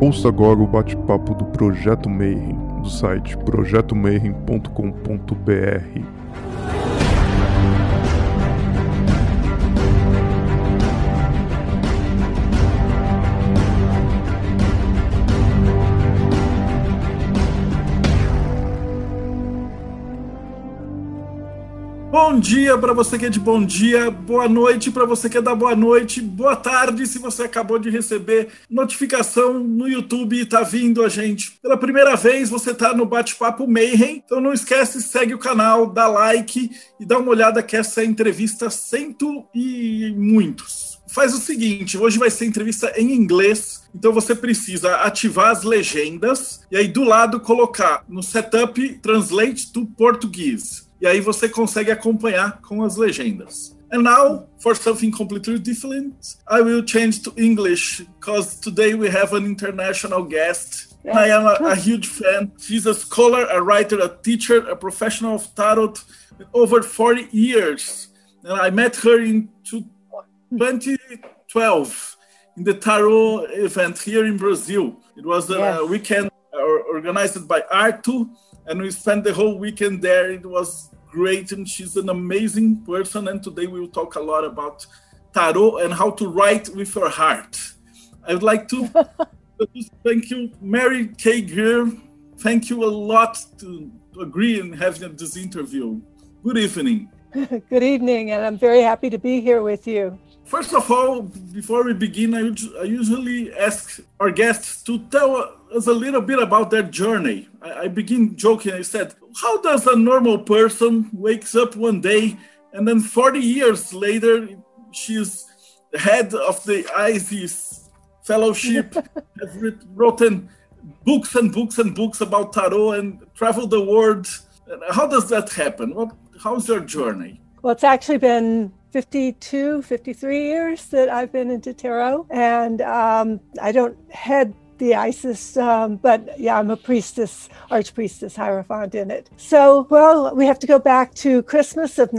Ouça agora o bate-papo do Projeto Mayhem, do site projetomayhem.com.br. Bom dia para você que é de bom dia, boa noite para você que é da boa noite, boa tarde se você acabou de receber notificação no YouTube e está vindo a gente pela primeira vez, você está no Bate-Papo Mayhem, então não esquece, segue o canal, dá like e dá uma olhada que essa entrevista cento e muitos. Faz o seguinte, hoje vai ser entrevista em inglês, então você precisa ativar as legendas e aí do lado colocar no setup Translate to Portuguese. E aí você consegue acompanhar com as legendas. And now, for something completely different, I will change to English, because today we have an international guest. I am a huge fan. She's a scholar, a writer, a teacher, a professional of tarot with over 40 years. And I met her in 2012 in the tarot event here in Brazil. It was a weekend organized by Artu, and we spent the whole weekend there. It was great, and she's an amazing person, and today we will talk a lot about tarot and how to write with your heart. I would like to thank you, Mary K. Greer. Thank you a lot to agree in having this interview. Good evening. Good evening, and I'm very happy to be here with you. First of all, before we begin, I usually ask our guests to tell us a little bit about their journey. I begin joking. I said, how does a normal person wakes up one day and then 40 years later, she's the head of the ISIS Fellowship, has written books and books and books about tarot and traveled the world. How does that happen? How's your journey? Well, it's actually been 53 years that I've been into tarot, and I don't head the ISIS, but yeah, I'm a priestess, archpriestess, hierophant in it. So, well, we have to go back to Christmas of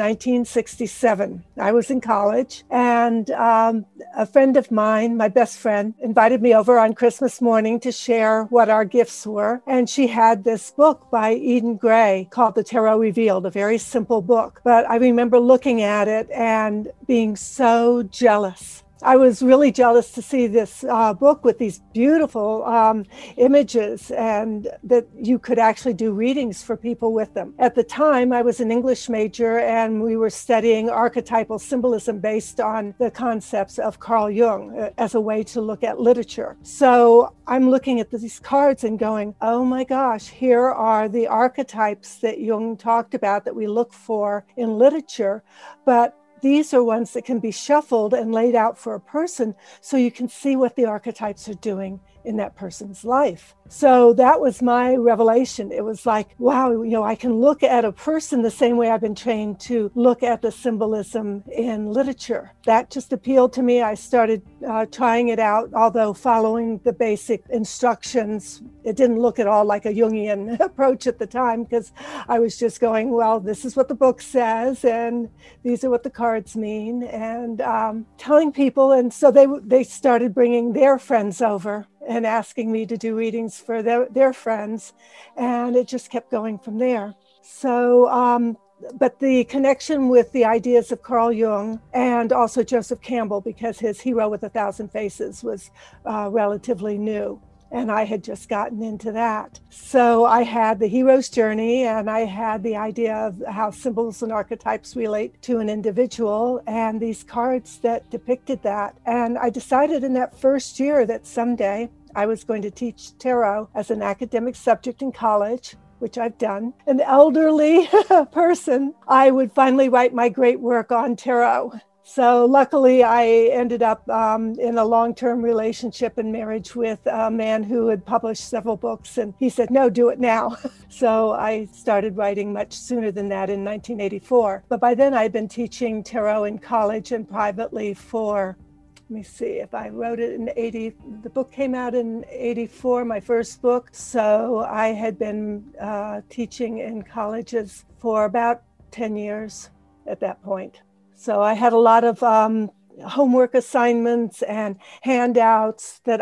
1967. I was in college, and a friend of mine, my best friend, invited me over on Christmas morning to share what our gifts were. And she had this book by Eden Gray called The Tarot Revealed, a very simple book. But I remember looking at it and being so jealous. I was really jealous to see this book with these beautiful images and that you could actually do readings for people with them. At the time, I was an English major and we were studying archetypal symbolism based on the concepts of Carl Jung as a way to look at literature. So I'm looking at these cards and going, oh my gosh, here are the archetypes that Jung talked about that we look for in literature, but these are ones that can be shuffled and laid out for a person so you can see what the archetypes are doing in that person's life. So that was my revelation. It was like, wow, I can look at a person the same way I've been trained to look at the symbolism in literature. That just appealed to me. I started trying it out, although following the basic instructions. It didn't look at all like a Jungian approach at the time because I was just going, well, this is what the book says and these are what the cards mean, and telling people. And so they started bringing their friends over and asking me to do readings for their friends. And it just kept going from there. So, but the connection with the ideas of Carl Jung and also Joseph Campbell, because his Hero with a Thousand Faces was relatively new. And I had just gotten into that. So I had the hero's journey and I had the idea of how symbols and archetypes relate to an individual and these cards that depicted that. And I decided in that first year that someday I was going to teach tarot as an academic subject in college, which I've done. An elderly person, I would finally write my great work on tarot. So luckily, I ended up in a long-term relationship and marriage with a man who had published several books. And he said, no, do it now. So I started writing much sooner than that in 1984. But by then, I'd been teaching tarot in college and privately for, let me see, if I wrote it in 80, the book came out in 84, my first book. So I had been teaching in colleges for about 10 years at that point. So I had a lot of homework assignments and handouts that I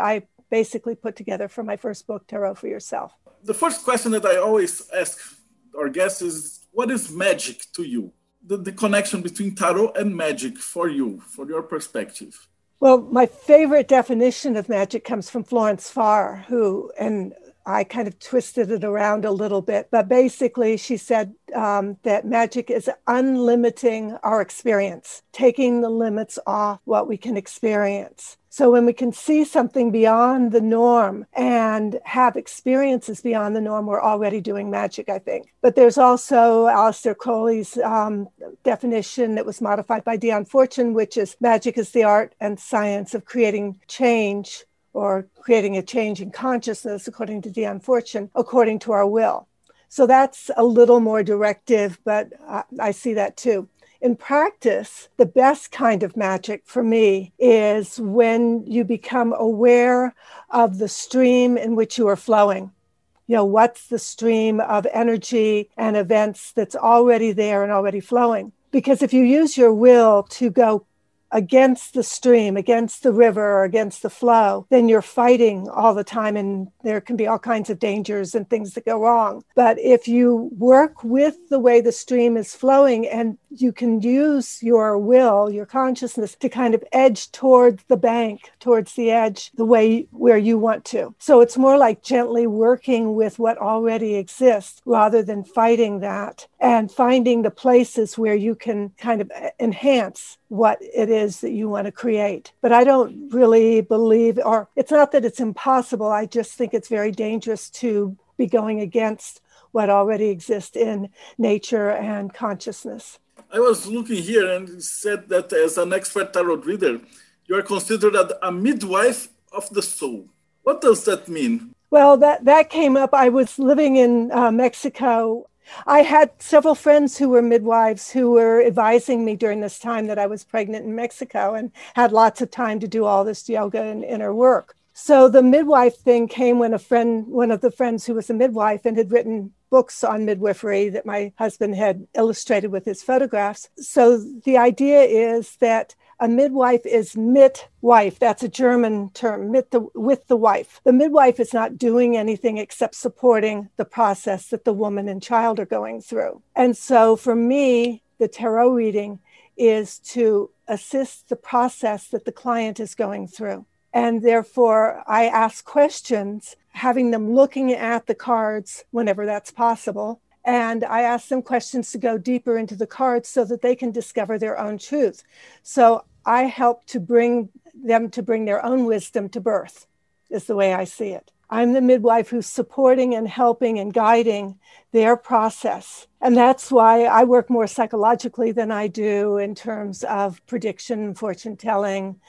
basically put together for my first book, Tarot for Yourself. The first question that I always ask our guests is, what is magic to you? The connection between tarot and magic for you, for your perspective. Well, my favorite definition of magic comes from Florence Farr, and I kind of twisted it around a little bit, but basically she said that magic is unlimiting our experience, taking the limits off what we can experience. So when we can see something beyond the norm and have experiences beyond the norm, we're already doing magic, I think. But there's also Aleister Crowley's definition that was modified by Dion Fortune, which is magic is the art and science of creating change, or creating a change in consciousness, according to Dion Fortune, according to our will. So that's a little more directive, but I see that too. In practice, the best kind of magic for me is when you become aware of the stream in which you are flowing. You know, what's the stream of energy and events that's already there and already flowing? Because if you use your will to go against the stream, against the river, or against the flow, then you're fighting all the time, and there can be all kinds of dangers and things that go wrong. But if you work with the way the stream is flowing, and you can use your will, your consciousness, to kind of edge towards the bank, towards the edge, the way where you want to. So it's more like gently working with what already exists rather than fighting that, and finding the places where you can kind of enhance what it is that you want to create. But I don't really believe, or it's not that it's impossible, I just think it's very dangerous to be going against what already exists in nature and consciousness. I was looking here and it said that as an expert tarot reader, you are considered a midwife of the soul. What does that mean? Well, that came up. I was living in Mexico. I had several friends who were midwives who were advising me during this time that I was pregnant in Mexico, and had lots of time to do all this yoga and inner work. So the midwife thing came when one of the friends who was a midwife and had written books on midwifery that my husband had illustrated with his photographs. So the idea is that a midwife is mit-wife. That's a German term, with the wife. The midwife is not doing anything except supporting the process that the woman and child are going through. And so for me, the tarot reading is to assist the process that the client is going through. And therefore, I ask questions, having them looking at the cards whenever that's possible. And I ask them questions to go deeper into the cards so that they can discover their own truth. So I help to bring them to bring their own wisdom to birth, is the way I see it. I'm the midwife who's supporting and helping and guiding their process. And that's why I work more psychologically than I do in terms of prediction, fortune telling,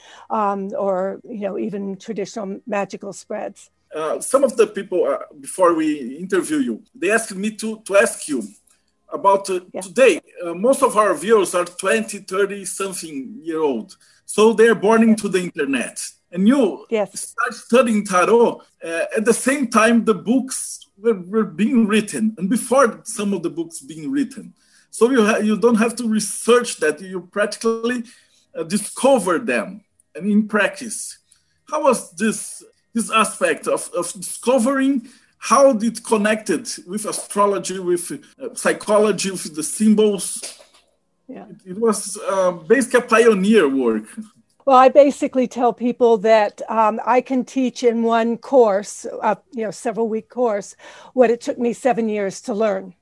or even traditional magical spreads. Some of the people, before we interview you, they asked me to ask you about today. Most of our viewers are 20, 30 something year old. So they're born into the internet. And you start studying tarot at the same time the books were being written, and before some of the books being written. So you don't have to research that. You practically discover them and in practice. How was this aspect of discovering, how it connected with astrology, with psychology, with the symbols? Yeah. It was basically a pioneer work. Well, I basically tell people that I can teach in one course, several week course, what it took me 7 years to learn.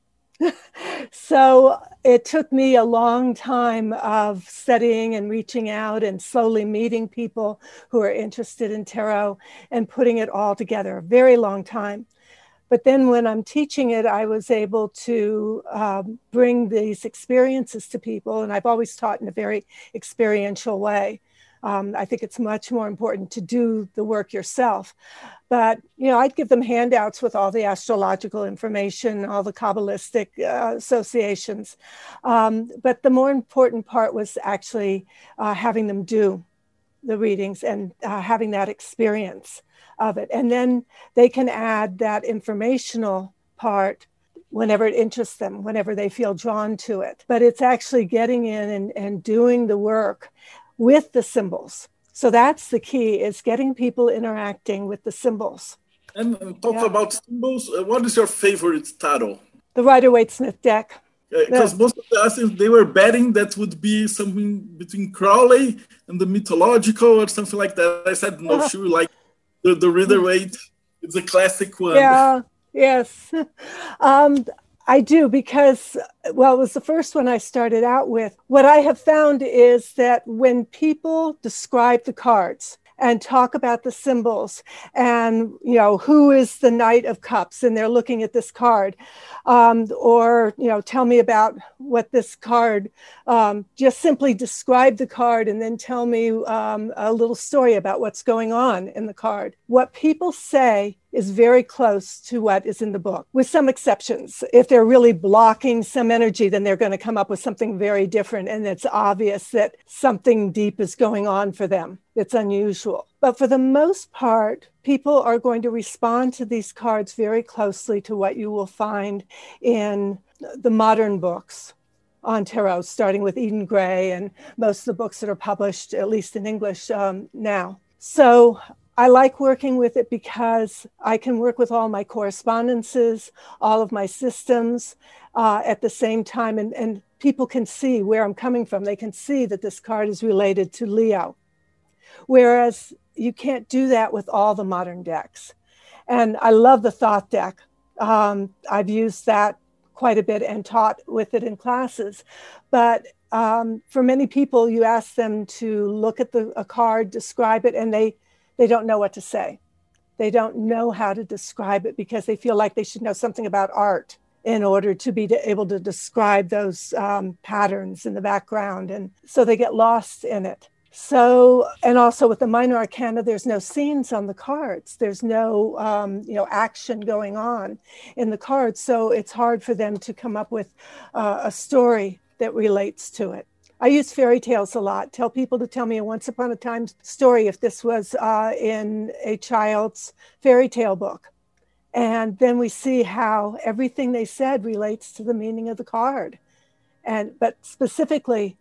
So it took me a long time of studying and reaching out and slowly meeting people who are interested in tarot and putting it all together, a very long time. But then when I'm teaching it, I was able to bring these experiences to people. And I've always taught in a very experiential way. I think it's much more important to do the work yourself. But, I'd give them handouts with all the astrological information, all the Kabbalistic associations. But the more important part was actually having them do the readings and having that experience of it. And then they can add that informational part whenever it interests them, whenever they feel drawn to it. But it's actually getting in and doing the work with the symbols. So that's the key, is getting people interacting with the symbols. And talk about symbols. What is your favorite tarot? The Rider-Waite-Smith deck. Because most of the answers, they were betting that would be something between Crowley and the mythological or something like that. I said, no, sure, like the Rider-Waite. It's a classic one. Yeah, yes. I do, because, well, it was the first one I started out with. What I have found is that when people describe the cards and talk about the symbols and, you know, who is the Knight of Cups, and they're looking at this card, or, you know, tell me about what this card, just simply describe the card and then tell me a little story about what's going on in the card. What people say is very close to what is in the book, with some exceptions. If they're really blocking some energy, then they're going to come up with something very different, and it's obvious that something deep is going on for them. It's unusual. But for the most part, people are going to respond to these cards very closely to what you will find in the modern books on tarot, starting with Eden Gray and most of the books that are published, at least in English now. So I like working with it because I can work with all my correspondences, all of my systems at the same time, and people can see where I'm coming from. They can see that this card is related to Leo, whereas you can't do that with all the modern decks. And I love the Thoth deck. I've used that quite a bit and taught with it in classes. But for many people, you ask them to look at a card, describe it, and they don't know what to say. They don't know how to describe it because they feel like they should know something about art in order to be able to describe those patterns in the background. And so they get lost in it. So, and also with the minor arcana, there's no scenes on the cards. There's no, action going on in the cards. So it's hard for them to come up with a story that relates to it. I use fairy tales a lot. Tell people to tell me a once upon a time story if this was in a child's fairy tale book. And then we see how everything they said relates to the meaning of the card. But specifically,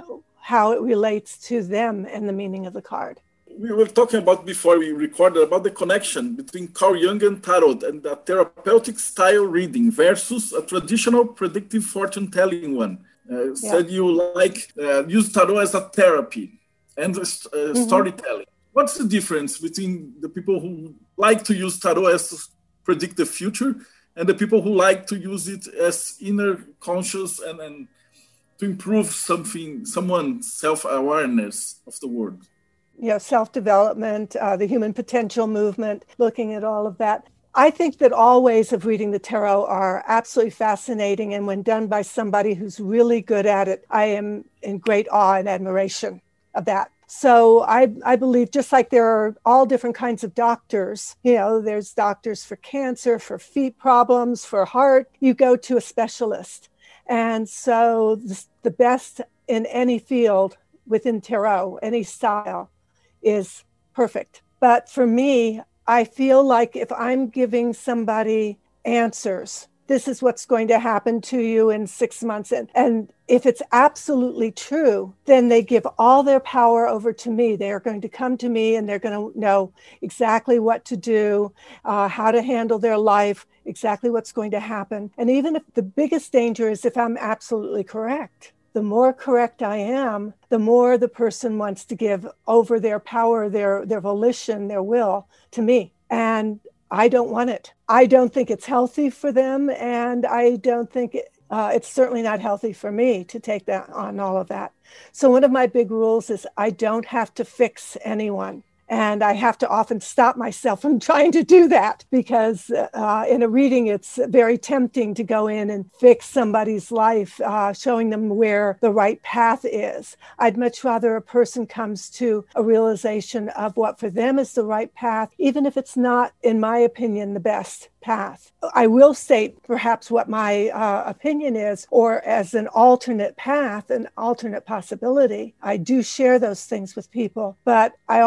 how it relates to them and the meaning of the card. We were talking about before we recorded about the connection between Carl Jung tarot and the therapeutic style reading versus a traditional predictive fortune telling one. Said you like use tarot as a therapy and storytelling. What's the difference between the people who like to use tarot as to predict the future and the people who like to use it as inner conscious and to improve someone's self-awareness of the world? Yeah, self-development, the human potential movement, looking at all of that. I think that all ways of reading the tarot are absolutely fascinating. And when done by somebody who's really good at it, I am in great awe and admiration of that. So I believe just like there are all different kinds of doctors, there's doctors for cancer, for feet problems, for heart, you go to a specialist. And so the best in any field within tarot, any style, is perfect. But for me, I feel like if I'm giving somebody answers, this is what's going to happen to you in 6 months. And if it's absolutely true, then they give all their power over to me. They are going to come to me and they're going to know exactly what to do, how to handle their life, exactly what's going to happen. And even if the biggest danger is if I'm absolutely correct, the more correct I am, the more the person wants to give over their power, their volition, their will to me. And I don't want it. I don't think it's healthy for them. And I don't think it's certainly not healthy for me to take that on all of that. So one of my big rules is I don't have to fix anyone. And I have to often stop myself from trying to do that because in a reading, it's very tempting to go in and fix somebody's life, showing them where the right path is. I'd much rather a person comes to a realization of what for them is the right path, even if it's not, in my opinion, the best path. I will state perhaps what my opinion is, or as an alternate path, an alternate possibility. I do share those things with people, but I always make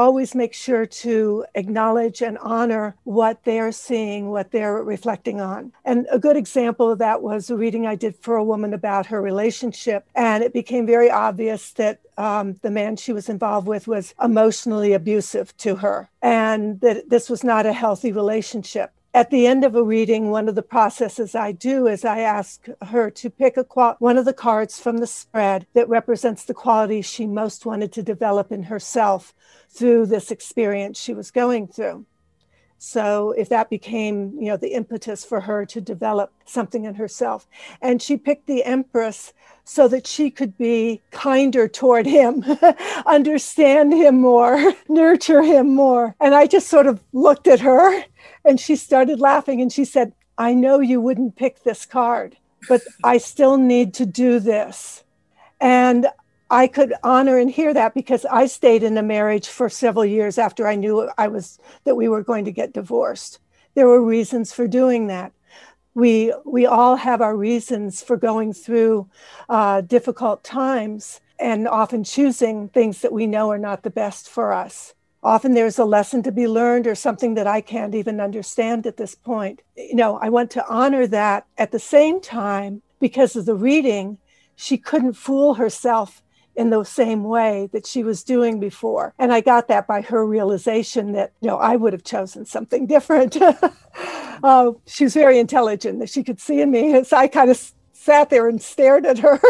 make sure to acknowledge and honor what they're seeing, what they're reflecting on. And a good example of that was a reading I did for a woman about her relationship. And it became very obvious that the man she was involved with was emotionally abusive to her, and that this was not a healthy relationship. At the end of a reading, one of the processes I do is I ask her to pick one of the cards from the spread that represents the qualities she most wanted to develop in herself through this experience she was going through. So if that became, the impetus for her to develop something in herself. And she picked the Empress so that she could be kinder toward him, understand him more, nurture him more. And I just sort of looked at her and she started laughing and she said, I know you wouldn't pick this card, but I still need to do this. And I could honor and hear that because I stayed in a marriage for several years after I knew that we were going to get divorced. There were reasons for doing that. We all have our reasons for going through difficult times and often choosing things that we know are not the best for us. Often there's a lesson to be learned or something that I can't even understand at this point. I want to honor that. At the same time, because of the reading, she couldn't fool herself in the same way that she was doing before. And I got that by her realization that, I would have chosen something different. She was very intelligent, that she could see in me. So I kind of sat there and stared at her.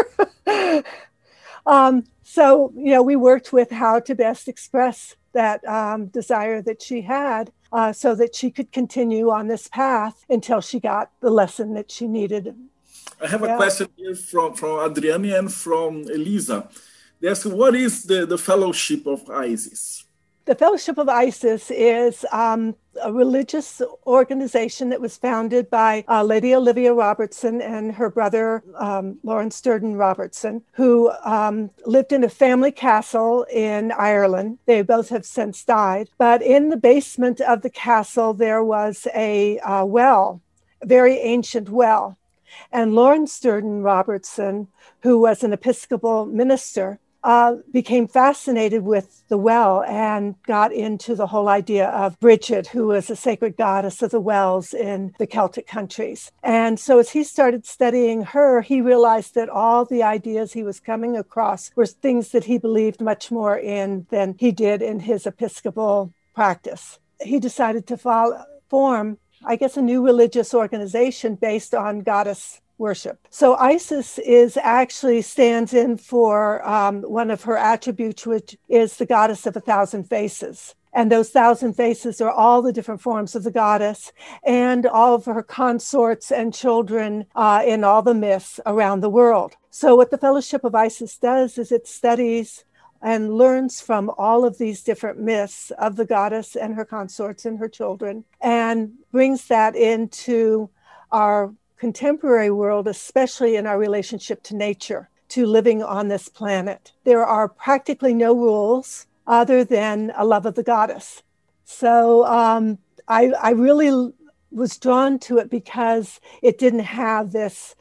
So we worked with how to best express that desire that she had so that she could continue on this path until she got the lesson that she needed. I have a question here from Adriane and from Elisa. They ask, what is the Fellowship of Isis? The Fellowship of Isis is a religious organization that was founded by Lady Olivia Robertson and her brother, Lawrence Durden Robertson, who lived in a family castle in Ireland. They both have since died. But in the basement of the castle, there was a well, a very ancient well. And Lawrence Durden Robertson, who was an Episcopal minister, became fascinated with the well and got into the whole idea of Bridget, who was a sacred goddess of the wells in the Celtic countries. And so as he started studying her, he realized that all the ideas he was coming across were things that he believed much more in than he did in his Episcopal practice. He decided to form, a new religious organization based on goddess worship. So Isis actually stands in for one of her attributes, which is the goddess of 1,000 faces. And those 1,000 faces are all the different forms of the goddess and all of her consorts and children in all the myths around the world. So what the Fellowship of Isis does is it studies and learns from all of these different myths of the goddess and her consorts and her children and brings that into our contemporary world, especially in our relationship to nature, to living on this planet. There are practically no rules other than a love of the goddess. So I really was drawn to it because it didn't have this,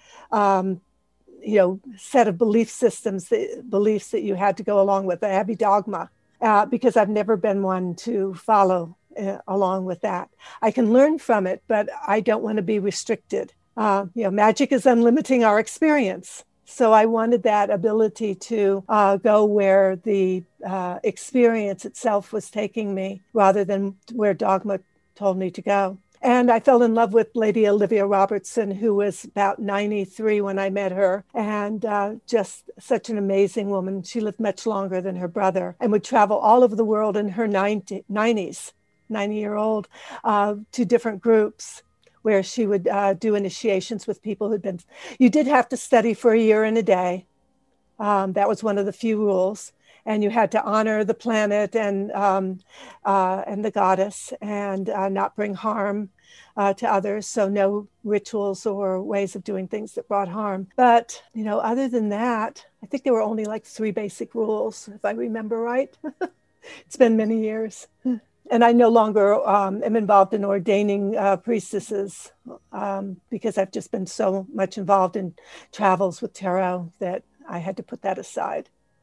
set of belief systems, beliefs that you had to go along with, a heavy dogma, because I've never been one to follow along with that. I can learn from it, but I don't want to be restricted. Magic is unlimiting our experience. So I wanted that ability to go where the experience itself was taking me rather than where dogma told me to go. And I fell in love with Lady Olivia Robertson, who was about 93 when I met her, and just such an amazing woman. She lived much longer than her brother and would travel all over the world in her 90-year-old, to different groups, where she would do initiations with people who'd been, you did have to study for a year and a day. That was one of the few rules. And you had to honor the planet and the goddess and not bring harm to others. So no rituals or ways of doing things that brought harm. But, other than that, I think there were only like 3 basic rules, if I remember right. It's been many years. And I no longer am involved in ordaining priestesses because I've just been so much involved in travels with tarot that I had to put that aside.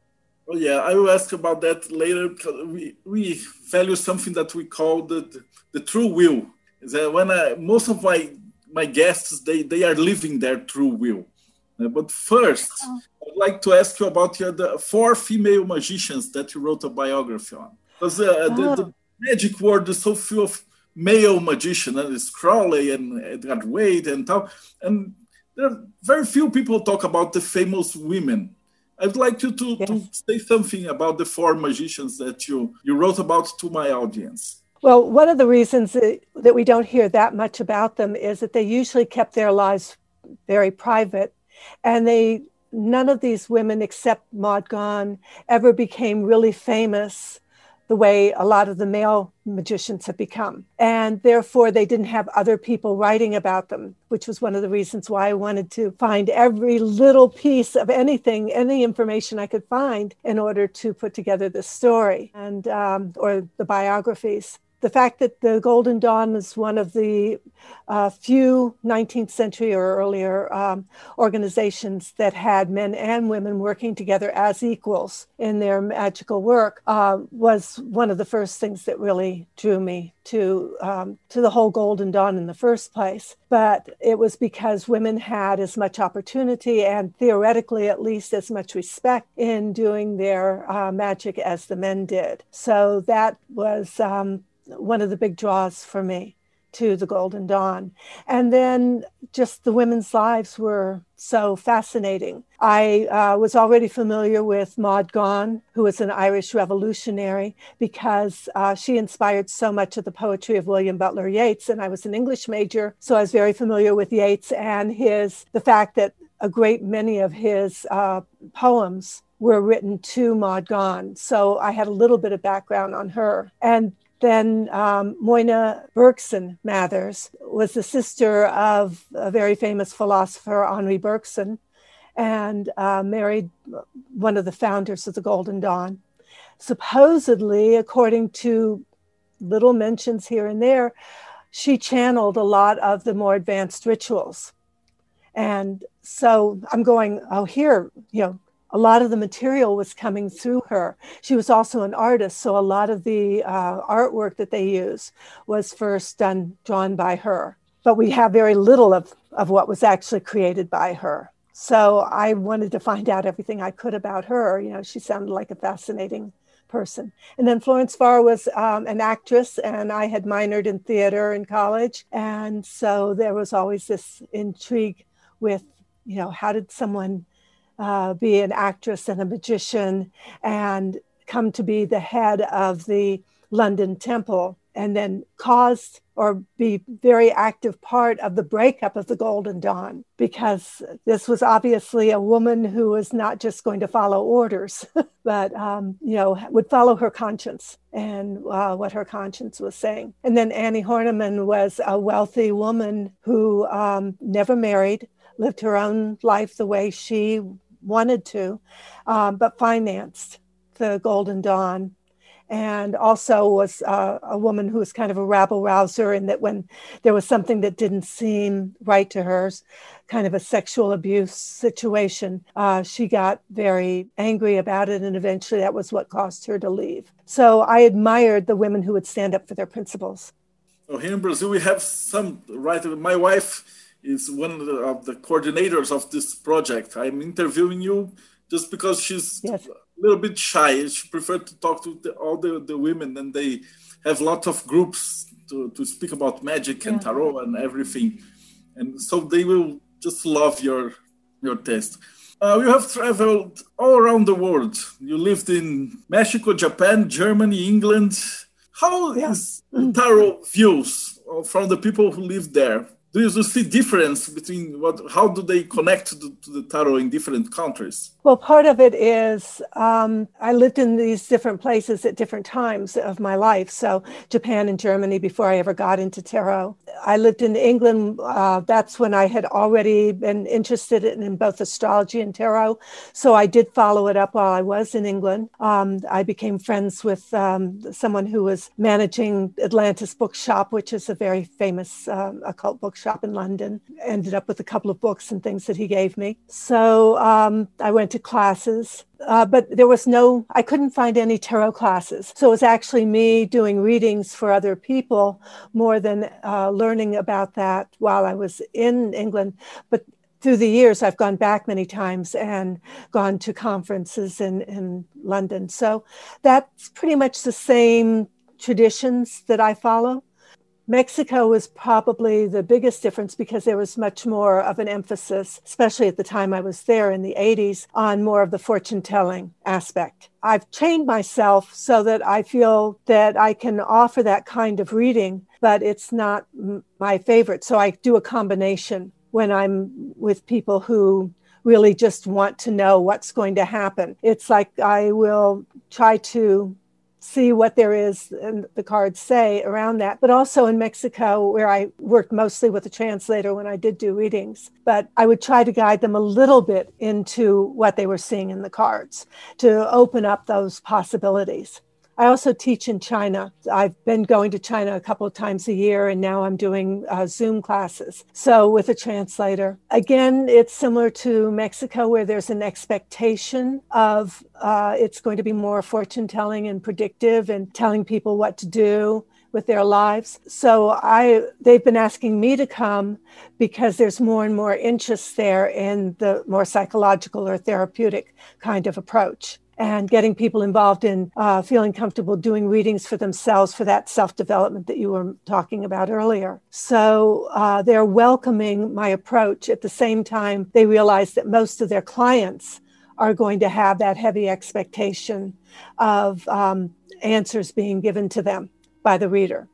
Oh yeah, I will ask about that later because we value something that we call the true will. Is that when most of my guests they are living their true will. But first, I'd like to ask you about the four female magicians that you wrote a biography on. Because the magic world is so full of male magicians, and it's Crowley and Edgar Wade and tal. And there are very few people talk about the famous women. I'd like you to say something about the four magicians that you wrote about to my audience. Well, one of the reasons that we don't hear that much about them is that they usually kept their lives very private, and none of these women except Maud Gonne ever became really famous the way a lot of the male magicians have become. And therefore, they didn't have other people writing about them, which was one of the reasons why I wanted to find every little piece of anything, any information I could find in order to put together this story and or the biographies. The fact that the Golden Dawn is one of the few 19th century or earlier organizations that had men and women working together as equals in their magical work was one of the first things that really drew me to the whole Golden Dawn in the first place. But it was because women had as much opportunity and theoretically at least as much respect in doing their magic as the men did. So that was one of the big draws for me to the Golden Dawn. And then just the women's lives were so fascinating. I was already familiar with Maud Gonne, who was an Irish revolutionary, because she inspired so much of the poetry of William Butler Yeats. And I was an English major, so I was very familiar with Yeats and the fact that a great many of his poems were written to Maud Gonne. So I had a little bit of background on her. And then Moyna Bergson Mathers was the sister of a very famous philosopher, Henri Bergson, and married one of the founders of the Golden Dawn. Supposedly, according to little mentions here and there, she channeled a lot of the more advanced rituals. And so I'm going, here, a lot of the material was coming through her. She was also an artist, so a lot of the artwork that they use was first drawn by her. But we have very little of what was actually created by her. So I wanted to find out everything I could about her. She sounded like a fascinating person. And then Florence Farr was an actress, and I had minored in theater in college. And so there was always this intrigue with, how did someone be an actress and a magician and come to be the head of the London Temple and then caused or be very active part of the breakup of the Golden Dawn, because this was obviously a woman who was not just going to follow orders, but, would follow her conscience and what her conscience was saying. And then Annie Horniman was a wealthy woman who never married, lived her own life the way she wanted to, but financed the Golden Dawn, and also was a woman who was kind of a rabble-rouser, in that when there was something that didn't seem right to her, kind of a sexual abuse situation, she got very angry about it, and eventually that was what caused her to leave. So I admired the women who would stand up for their principles. So here in Brazil, we have some, right? My wife is one of the coordinators of this project. I'm interviewing you just because she's a little bit shy. She prefers to talk to all the women, and they have lots of groups to speak about magic and tarot and everything. And so they will just love your taste. You have traveled all around the world. You lived in Mexico, Japan, Germany, England. How is tarot views from the people who live there? Do you see difference between how do they connect to the tarot in different countries? Well, part of it is I lived in these different places at different times of my life. So Japan and Germany before I ever got into tarot. I lived in England. That's when I had already been interested in both astrology and tarot. So I did follow it up while I was in England. I became friends with someone who was managing Atlantis Bookshop, which is a very famous occult bookshop in London. Ended up with a couple of books and things that he gave me. So I went to to classes, but I couldn't find any tarot classes. So it was actually me doing readings for other people more than learning about that while I was in England. But through the years, I've gone back many times and gone to conferences in London. So that's pretty much the same traditions that I follow. Mexico was probably the biggest difference because there was much more of an emphasis, especially at the time I was there in the 80s, on more of the fortune telling aspect. I've trained myself so that I feel that I can offer that kind of reading, but it's not my favorite. So I do a combination when I'm with people who really just want to know what's going to happen. It's like I will try to see what there is and the cards say around that. But also in Mexico, where I worked mostly with a translator when I did do readings, but I would try to guide them a little bit into what they were seeing in the cards to open up those possibilities. I also teach in China. I've been going to China a couple of times a year, and now I'm doing Zoom classes. So with a translator. Again, it's similar to Mexico, where there's an expectation of it's going to be more fortune telling and predictive and telling people what to do with their lives. So they've been asking me to come because there's more and more interest there in the more psychological or therapeutic kind of approach, and getting people involved in feeling comfortable doing readings for themselves for that self-development that you were talking about earlier. So they're welcoming my approach. At the same time, they realize that most of their clients are going to have that heavy expectation of answers being given to them by the reader.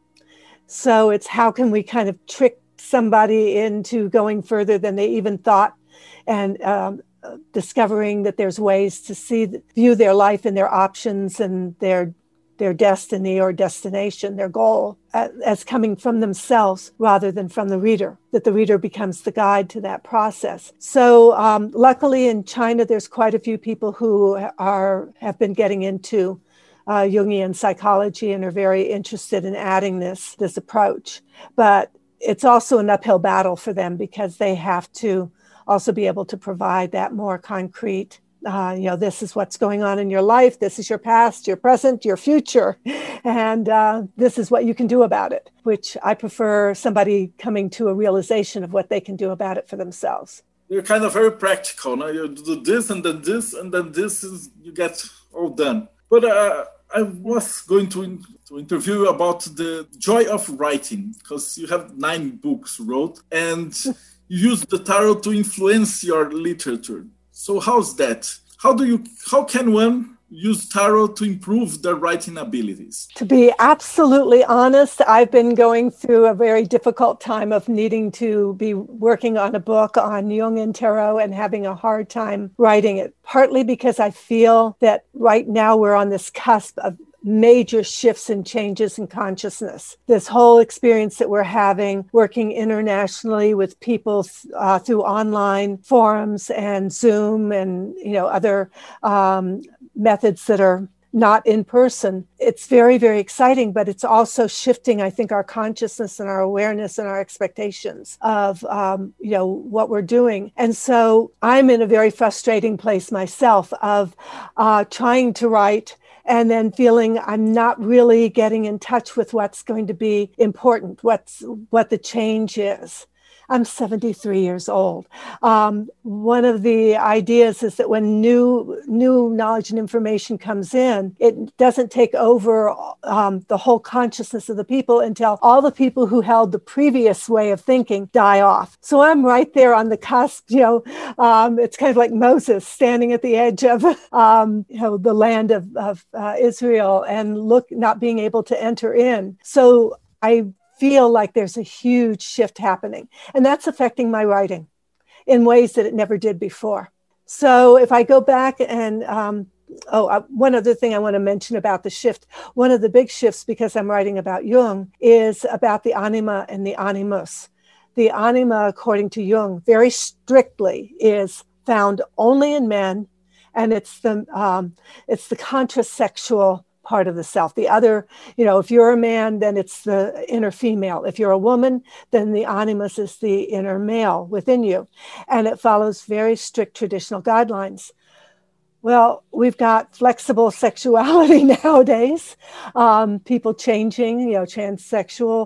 So it's how can we kind of trick somebody into going further than they even thought, and discovering that there's ways to view their life and their options and their destiny or destination, their goal, as coming from themselves rather than from the reader, that the reader becomes the guide to that process. So luckily in China, there's quite a few people who have been getting into Jungian psychology and are very interested in adding this approach. But it's also an uphill battle for them because they have to also be able to provide that more concrete, this is what's going on in your life. This is your past, your present, your future. And this is what you can do about it, which I prefer somebody coming to a realization of what they can do about it for themselves. You're kind of very practical. No? You do this, and then this, and then this, you get all done. But I was going to interview you about the joy of writing, because you have 9 books wrote, and you use the tarot to influence your literature. So how's that? How can one use tarot to improve their writing abilities? To be absolutely honest, I've been going through a very difficult time of needing to be working on a book on Jung and tarot and having a hard time writing it, partly because I feel that right now we're on this cusp of major shifts and changes in consciousness. This whole experience that we're having, working internationally with people through online forums and Zoom and other methods that are not in person. It's very, very exciting, but it's also shifting, I think, our consciousness and our awareness and our expectations of, what we're doing. And so I'm in a very frustrating place myself of trying to write and then feeling I'm not really getting in touch with what's going to be important, what the change is. I'm 73 years old. One of the ideas is that when new knowledge and information comes in, it doesn't take over the whole consciousness of the people until all the people who held the previous way of thinking die off. So I'm right there on the cusp. It's kind of like Moses standing at the edge of the land of Israel and not being able to enter in. So I feel like there's a huge shift happening, and that's affecting my writing in ways that it never did before. So if I go back and one other thing I want to mention about the shift, one of the big shifts, because I'm writing about Jung, is about the anima and the animus. The anima, according to Jung, very strictly is found only in men, and it's the contrasexual part of the self. The other, if you're a man, then it's the inner female. If you're a woman, then the animus is the inner male within you. And it follows very strict traditional guidelines. Well, we've got flexible sexuality nowadays, people changing, transsexual,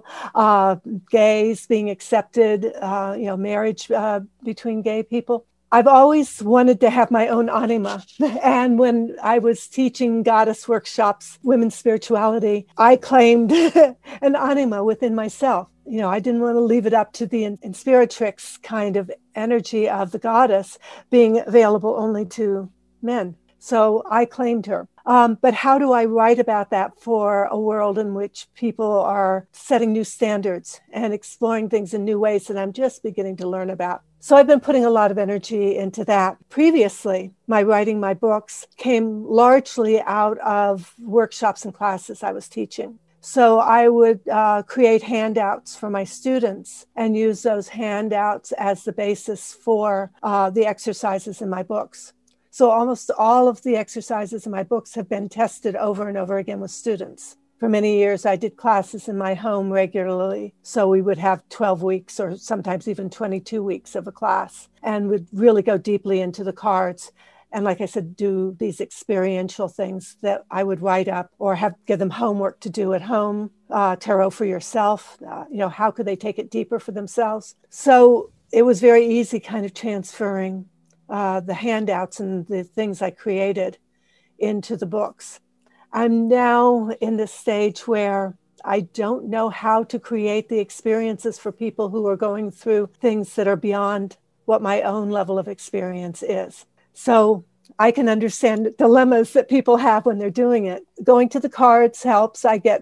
gays being accepted, marriage between gay people. I've always wanted to have my own anima. And when I was teaching goddess workshops, women's spirituality, I claimed an anima within myself. I didn't want to leave it up to the inspiratrix kind of energy of the goddess being available only to men. So I claimed her. But how do I write about that for a world in which people are setting new standards and exploring things in new ways that I'm just beginning to learn about? So I've been putting a lot of energy into that. Previously, my writing my books came largely out of workshops and classes I was teaching. So I would create handouts for my students and use those handouts as the basis for the exercises in my books. So almost all of the exercises in my books have been tested over and over again with students. For many years, I did classes in my home regularly. So we would have 12 weeks or sometimes even 22 weeks of a class and would really go deeply into the cards. And like I said, do these experiential things that I would write up or give them homework to do at home, tarot for yourself. How could they take it deeper for themselves? So it was very easy kind of transferring the handouts and the things I created into the books. I'm now in this stage where I don't know how to create the experiences for people who are going through things that are beyond what my own level of experience is. So I can understand dilemmas that people have when they're doing it. Going to the cards helps. I get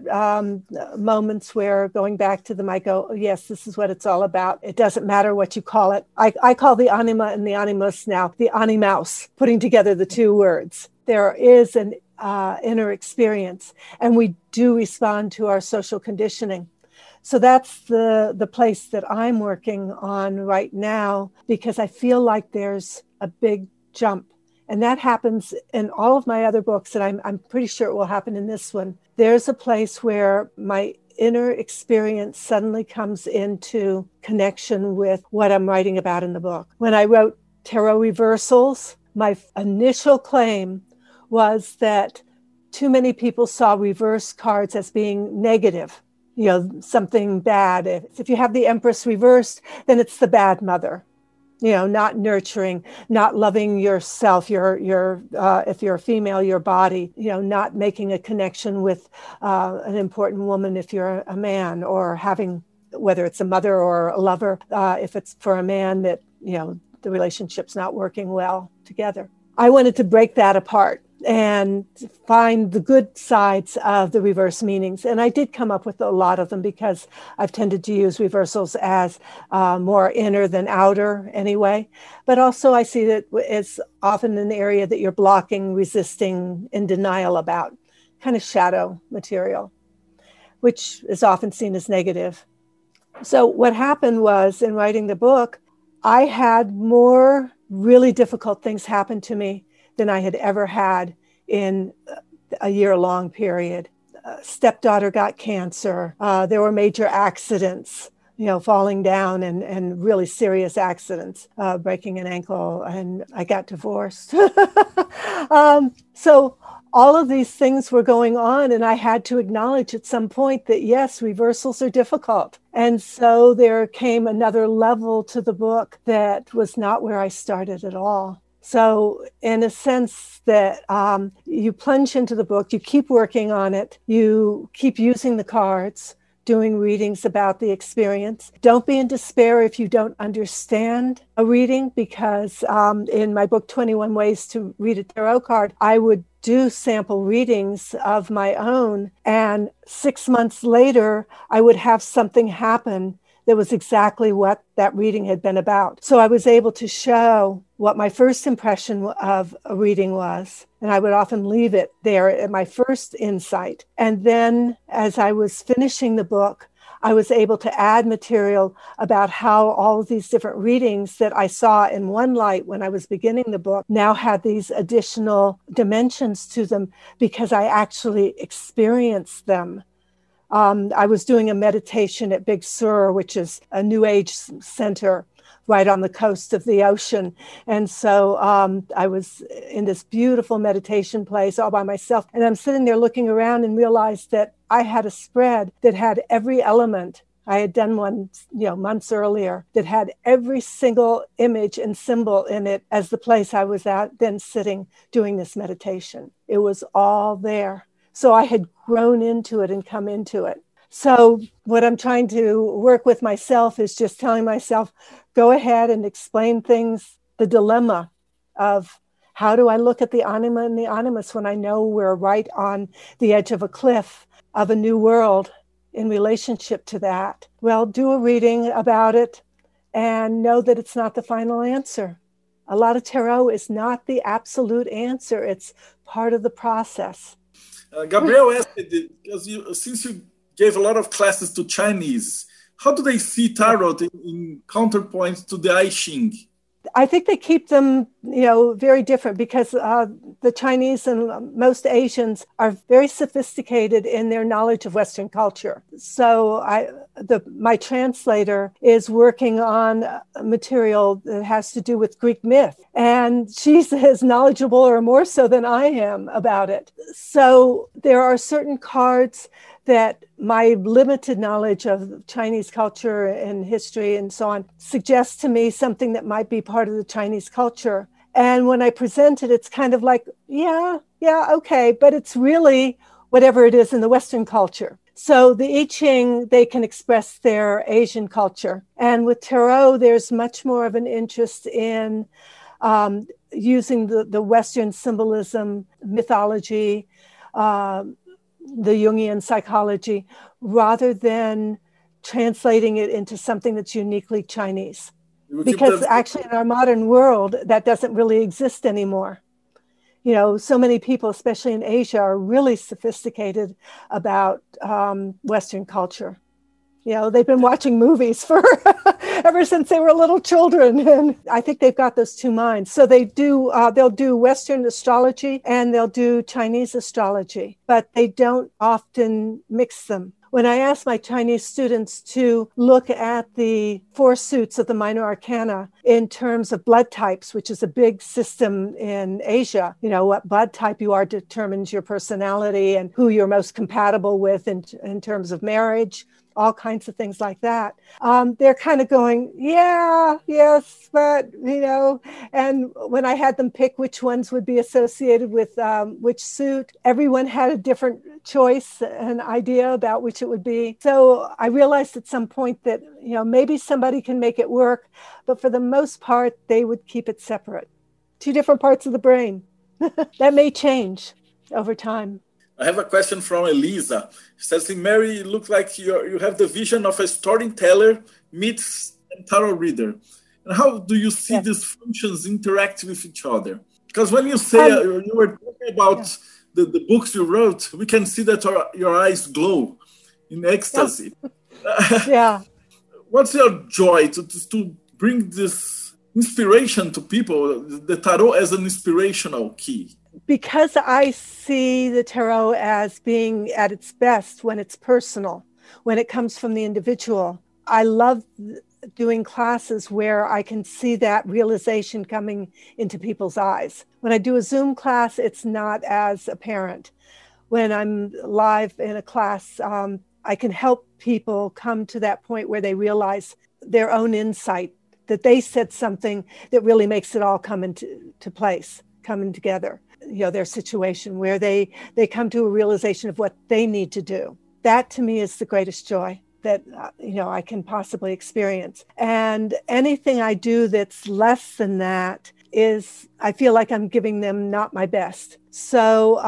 moments where going back to them, I go, oh, yes, this is what it's all about. It doesn't matter what you call it. I call the anima and the animus now the animaus, putting together the two words. There is an inner experience, and we do respond to our social conditioning. So that's the place that I'm working on right now, because I feel like there's a big jump. And that happens in all of my other books, and I'm pretty sure it will happen in this one. There's a place where my inner experience suddenly comes into connection with what I'm writing about in the book. When I wrote Tarot Reversals, my initial claim was that too many people saw reverse cards as being negative, something bad. If you have the Empress reversed, then it's the bad mother. Not nurturing, not loving yourself, if you're a female, your body, not making a connection with an important woman if you're a man, or having, whether it's a mother or a lover, if it's for a man that, the relationship's not working well together. I wanted to break that apart and find the good sides of the reverse meanings. And I did come up with a lot of them because I've tended to use reversals as more inner than outer anyway. But also I see that it's often an area that you're blocking, resisting, in denial about, kind of shadow material, which is often seen as negative. So what happened was, in writing the book, I had more really difficult things happen to me than I had ever had in a year-long period. Stepdaughter got cancer. There were major accidents, falling down and really serious accidents, breaking an ankle, and I got divorced. So all of these things were going on, and I had to acknowledge at some point that, yes, reversals are difficult. And so there came another level to the book that was not where I started at all. So in a sense that you plunge into the book, you keep working on it, you keep using the cards, doing readings about the experience. Don't be in despair if you don't understand a reading, because in my book, 21 Ways to Read a Tarot Card, I would do sample readings of my own. And 6 months later, I would have something happen that was exactly what that reading had been about. So I was able to show what my first impression of a reading was, and I would often leave it there at my first insight. And then as I was finishing the book, I was able to add material about how all of these different readings that I saw in one light when I was beginning the book now had these additional dimensions to them because I actually experienced them. I was doing a meditation at Big Sur, which is a New Age center right on the coast of the ocean. And so I was in this beautiful meditation place all by myself. And I'm sitting there looking around and realized that I had a spread that had every element. I had done one, months earlier that had every single image and symbol in it as the place I was at then sitting doing this meditation. It was all there. So I had grown into it and come into it. So what I'm trying to work with myself is just telling myself, go ahead and explain things, the dilemma of how do I look at the anima and the animus when I know we're right on the edge of a cliff of a new world in relationship to that. Well, do a reading about it and know that it's not the final answer. A lot of tarot is not the absolute answer. It's part of the process. Gabriel asked, because since you gave a lot of classes to Chinese, how do they see tarot in counterpoint to the I Ching? I think they keep them, very different because the Chinese and most Asians are very sophisticated in their knowledge of Western culture. So my translator is working on material that has to do with Greek myth, and she's as knowledgeable or more so than I am about it. So there are certain cards that my limited knowledge of Chinese culture and history and so on suggests to me something that might be part of the Chinese culture. And when I present it, it's kind of like, yeah, okay, but it's really whatever it is in the Western culture. So the I Ching, they can express their Asian culture. And with tarot, there's much more of an interest in using the Western symbolism, mythology, the Jungian psychology, rather than translating it into something that's uniquely Chinese. Because actually in our modern world, that doesn't really exist anymore. So many people, especially in Asia, are really sophisticated about Western culture. They've been watching movies for ever since they were little children. And I think they've got those two minds. So they'll do Western astrology and they'll do Chinese astrology, but they don't often mix them. When I ask my Chinese students to look at the 4 suits of the minor arcana in terms of blood types, which is a big system in Asia, what blood type you are determines your personality and who you're most compatible with in terms of marriage, all kinds of things like that. They're kind of going, yes, but, and when I had them pick which ones would be associated with which suit, everyone had a different choice and idea about which it would be. So I realized at some point that, maybe somebody can make it work, but for the most part, they would keep it separate. 2 different parts of the brain. That may change over time. I have a question from Elisa. She says, Mary, you look like you have the vision of a storyteller meets a tarot reader. And how do you see these functions interact with each other? Because when you say you were talking about the books you wrote, we can see that your eyes glow in ecstasy. Yeah. What's your joy to bring this inspiration to people, the tarot as an inspirational key? Because I see the tarot as being at its best when it's personal, when it comes from the individual. I love doing classes where I can see that realization coming into people's eyes. When I do a Zoom class, it's not as apparent. When I'm live in a class, I can help people come to that point where they realize their own insight, that they said something that really makes it all come into place, coming together. Their situation where they come to a realization of what they need to do. That to me is the greatest joy that, I can possibly experience. And anything I do that's less than that is, I feel like I'm giving them not my best. So,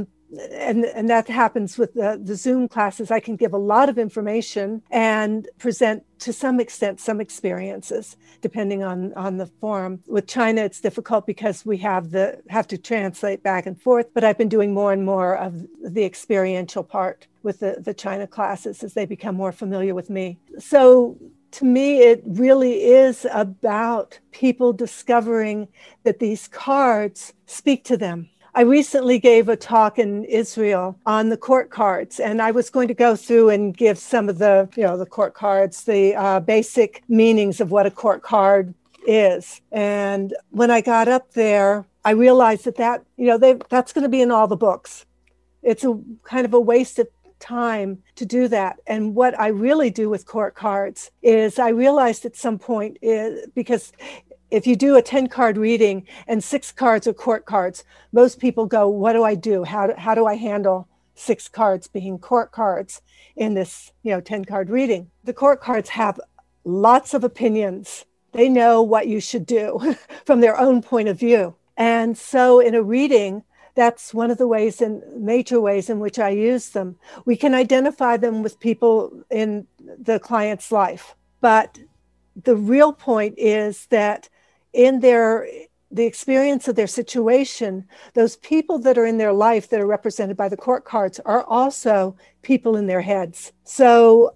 and that happens with the Zoom classes. I can give a lot of information and present to some extent some experiences, depending on the forum. With China, it's difficult because we have to translate back and forth, but I've been doing more and more of the experiential part with the China classes as they become more familiar with me. So to me, it really is about people discovering that these cards speak to them. I recently gave a talk in Israel on the court cards, and I was going to go through and give some of the, the court cards, the basic meanings of what a court card is. And when I got up there, I realized that's going to be in all the books. It's a kind of a waste of time to do that. And what I really do with court cards is I realized at some point because if you do a 10-card reading and 6 cards are court cards, most people go, what do I do? How do I handle 6 cards being court cards in this 10-card reading? The court cards have lots of opinions. They know what you should do from their own point of view. And so in a reading, that's one of the major ways in which I use them. We can identify them with people in the client's life. But the real point is that in the experience of their situation, those people that are in their life that are represented by the court cards are also people in their heads. So,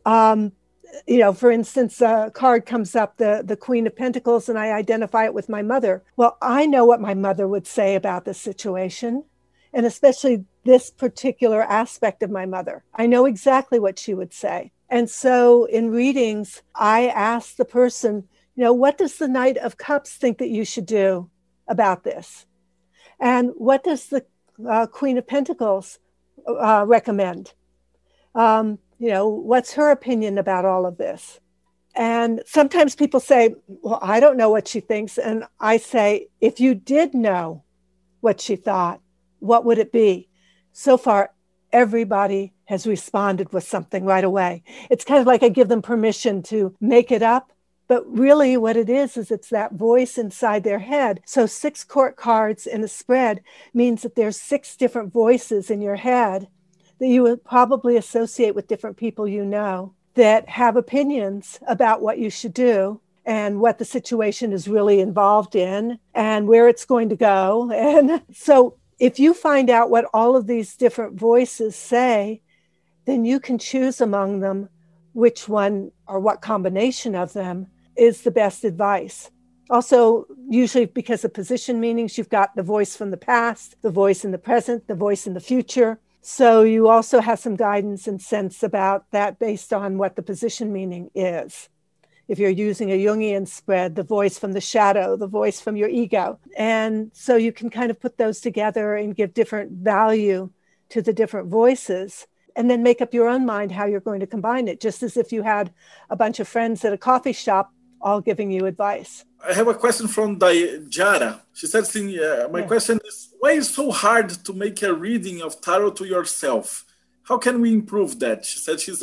for instance, a card comes up, the Queen of Pentacles, and I identify it with my mother. Well, I know what my mother would say about this situation, and especially this particular aspect of my mother. I know exactly what she would say. And so in readings, I ask the person, what does the Knight of Cups think that you should do about this? And what does the Queen of Pentacles recommend? What's her opinion about all of this? And sometimes people say, well, I don't know what she thinks. And I say, if you did know what she thought, what would it be? So far, everybody has responded with something right away. It's kind of like I give them permission to make it up. But really what it is it's that voice inside their head. So 6 court cards in a spread means that there's 6 different voices in your head that you would probably associate with different people that have opinions about what you should do and what the situation is really involved in and where it's going to go. And so if you find out what all of these different voices say, then you can choose among them which one or what combination of them is the best advice. Also, usually because of position meanings, you've got the voice from the past, the voice in the present, the voice in the future. So you also have some guidance and sense about that based on what the position meaning is. If you're using a Jungian spread, the voice from the shadow, the voice from your ego. And so you can kind of put those together and give different value to the different voices and then make up your own mind how you're going to combine it, just as if you had a bunch of friends at a coffee shop all giving you advice. I have a question from Jara. She said, my question is, why is it so hard to make a reading of tarot to yourself? How can we improve that? She said she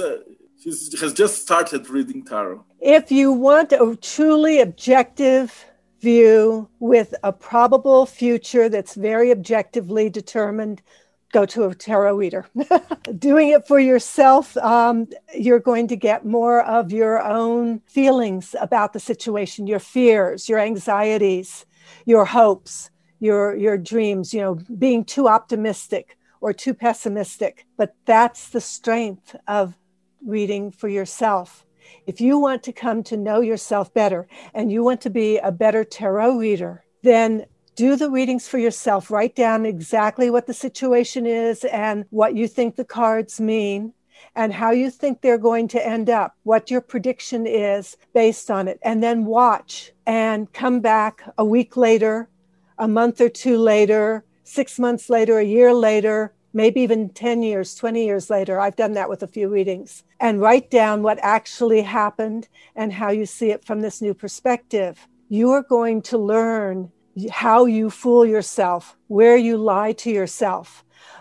has just started reading tarot. If you want a truly objective view with a probable future that's very objectively determined, go to a tarot reader. Doing it for yourself, you're going to get more of your own feelings about the situation, your fears, your anxieties, your hopes, your dreams, being too optimistic or too pessimistic. But that's the strength of reading for yourself. If you want to come to know yourself better and you want to be a better tarot reader, then do the readings for yourself. Write down exactly what the situation is and what you think the cards mean and how you think they're going to end up, what your prediction is based on it. And then watch and come back a week later, a month or 2 later, 6 months later, a year later, maybe even 10 years, 20 years later. I've done that with a few readings. And write down what actually happened and how you see it from this new perspective. You are going to learn how you fool yourself, where you lie to yourself,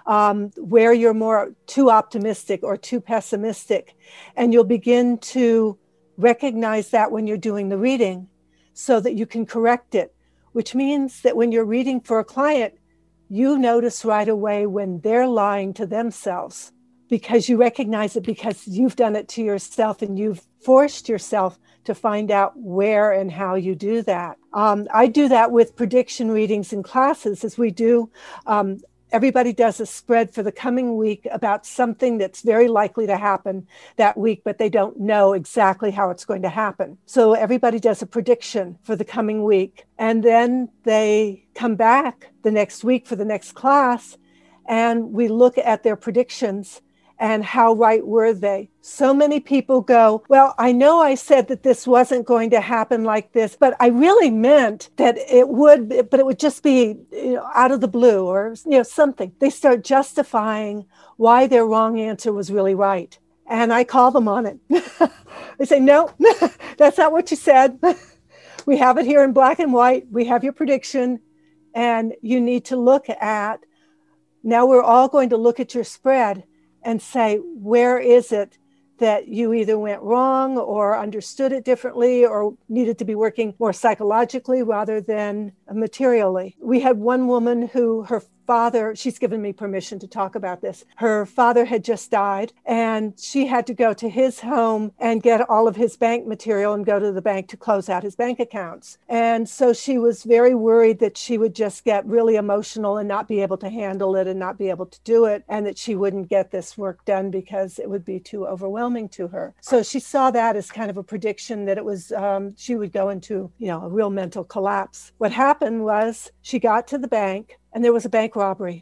where you're more too optimistic or too pessimistic. And you'll begin to recognize that when you're doing the reading so that you can correct it, which means that when you're reading for a client, you notice right away when they're lying to themselves because you recognize it because you've done it to yourself and you've forced yourself to find out where and how you do that. I do that with prediction readings in classes as we do everybody does a spread for the coming week about something that's very likely to happen that week, but they don't know exactly how it's going to happen. So everybody does a prediction for the coming week. And then they come back the next week for the next class, and we look at their predictions and how right were they. So many people go, well, I know I said that this wasn't going to happen like this, but I really meant that it would, but it would just be out of the blue or something. They start justifying why their wrong answer was really right. And I call them on it. They say, no, that's not what you said. We have it here in black and white. We have your prediction. And you need to look at, now we're all going to look at your spread and say, where is it that you either went wrong or understood it differently or needed to be working more psychologically rather than materially? We had one woman who her father, she's given me permission to talk about this. Her father had just died and she had to go to his home and get all of his bank material and go to the bank to close out his bank accounts. And so she was very worried that she would just get really emotional and not be able to handle it and not be able to do it, and that she wouldn't get this work done because it would be too overwhelming to her. So she saw that as kind of a prediction that it was, she would go into, a real mental collapse. What happened was she got to the bank and there was a bank robbery.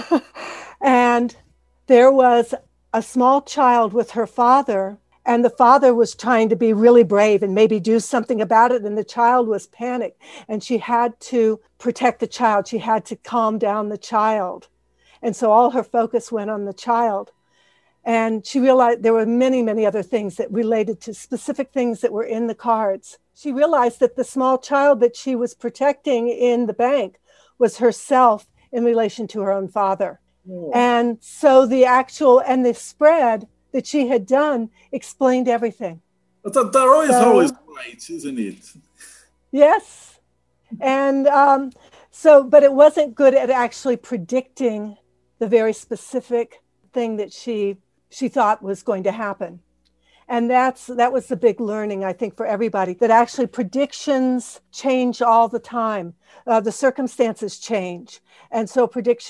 And there was a small child with her father, and the father was trying to be really brave and maybe do something about it. And the child was panicked, and she had to protect the child. She had to calm down the child. And so all her focus went on the child. And she realized there were many, many other things that related to specific things that were in the cards. She realized that the small child that she was protecting in the bank was herself in relation to her own father. Oh. And so the spread that she had done explained everything. But the tarot is always right, isn't it? Yes. And but it wasn't good at actually predicting the very specific thing that she thought was going to happen. And that was the big learning, I think, for everybody, that actually predictions change all the time. The circumstances change. And so